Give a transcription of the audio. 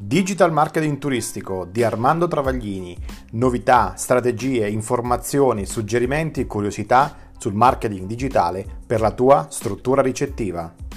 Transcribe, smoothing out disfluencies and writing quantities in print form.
Digital Marketing Turistico di Armando Travaglini. Novità, strategie, informazioni, suggerimenti e curiosità sul marketing digitale per la tua struttura ricettiva.